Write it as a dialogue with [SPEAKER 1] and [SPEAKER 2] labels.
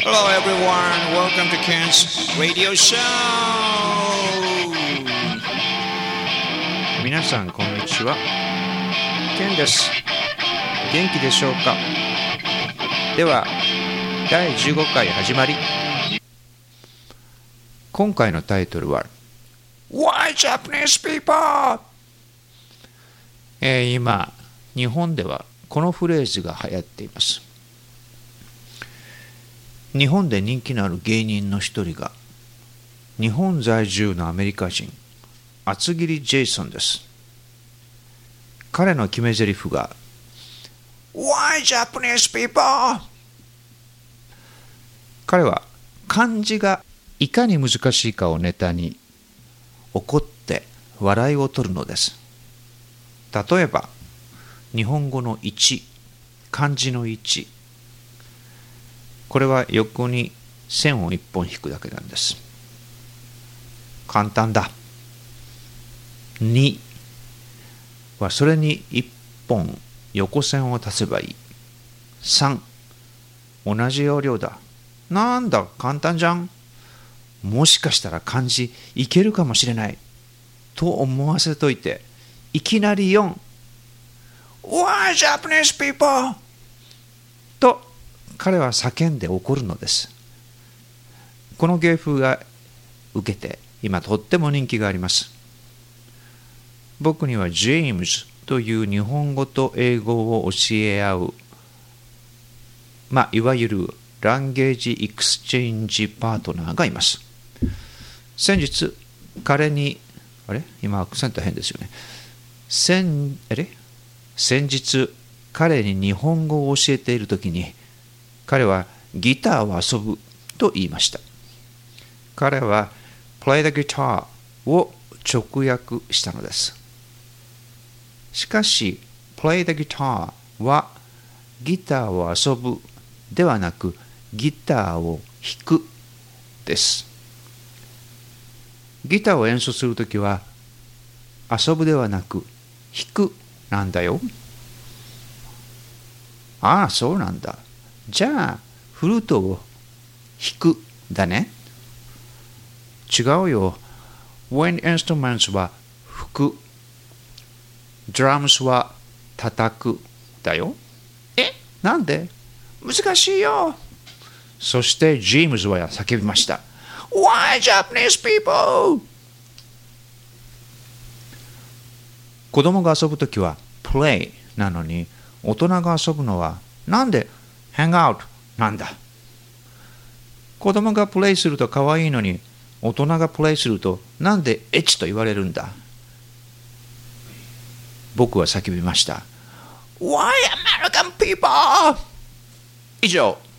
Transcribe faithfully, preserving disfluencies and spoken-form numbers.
[SPEAKER 1] Hello everyone, welcome to Ken's Radio Show!
[SPEAKER 2] 皆さんこんにちは。ケンです。元気でしょうか？では、だいじゅうごかい始まり。今回のタイトルは Why Japanese people? えー、今、日本ではこのフレーズが流行っています。日本で人気のある芸人の一人が日本在住のアメリカ人厚切りジェイソンです。彼の決め台詞が Why Japanese people? 彼は漢字がいかに難しいかをネタに怒って笑いを取るのです。例えば日本語のいち、漢字のいち、これは横に線をいっぽん引くだけなんです。簡単だ。にはそれにいっぽん横線を足せばいい。さん、同じ要領だ。なんだ簡単じゃん。もしかしたら漢字いけるかもしれないと思わせといて、いきなりよん、Why Japanese people? と彼は叫んで怒るのです。この芸風が受けて今とっても人気があります。僕にはジェームズという日本語と英語を教え合う、まあ、いわゆるランゲージエクスチェンジパートナーがいます。先日彼にあれ今アクセント変ですよね。先あれ先日彼に日本語を教えているときに彼はギターを遊ぶと言いました。彼は play the guitar を直訳したのです。しかし play the guitar はギターを遊ぶではなくギターを弾くです。ギターを演奏するときは遊ぶではなく弾くなんだよ。ああ、そうなんだ。じゃあフルートを弾くだね。違うよ。Wind instruments は吹く。Drums は叩くだよ。え、なんで？難しいよ。そしてジェームズは叫びました。Why Japanese people? 子供が遊ぶときは play なのに、大人が遊ぶのはなんで hang out なんだ。子供がプレイすると可愛いのに、大人がプレイするとなんでエッチと言われるんだ。僕は叫びました。Why American people? 以上。